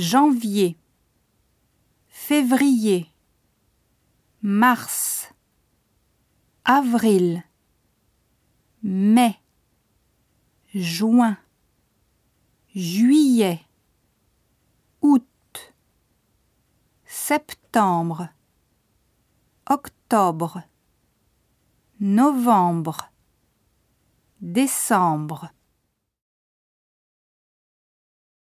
janvier, février, mars, avril, mai, juin, juillet, août, septembre, octobre, novembre, décembre.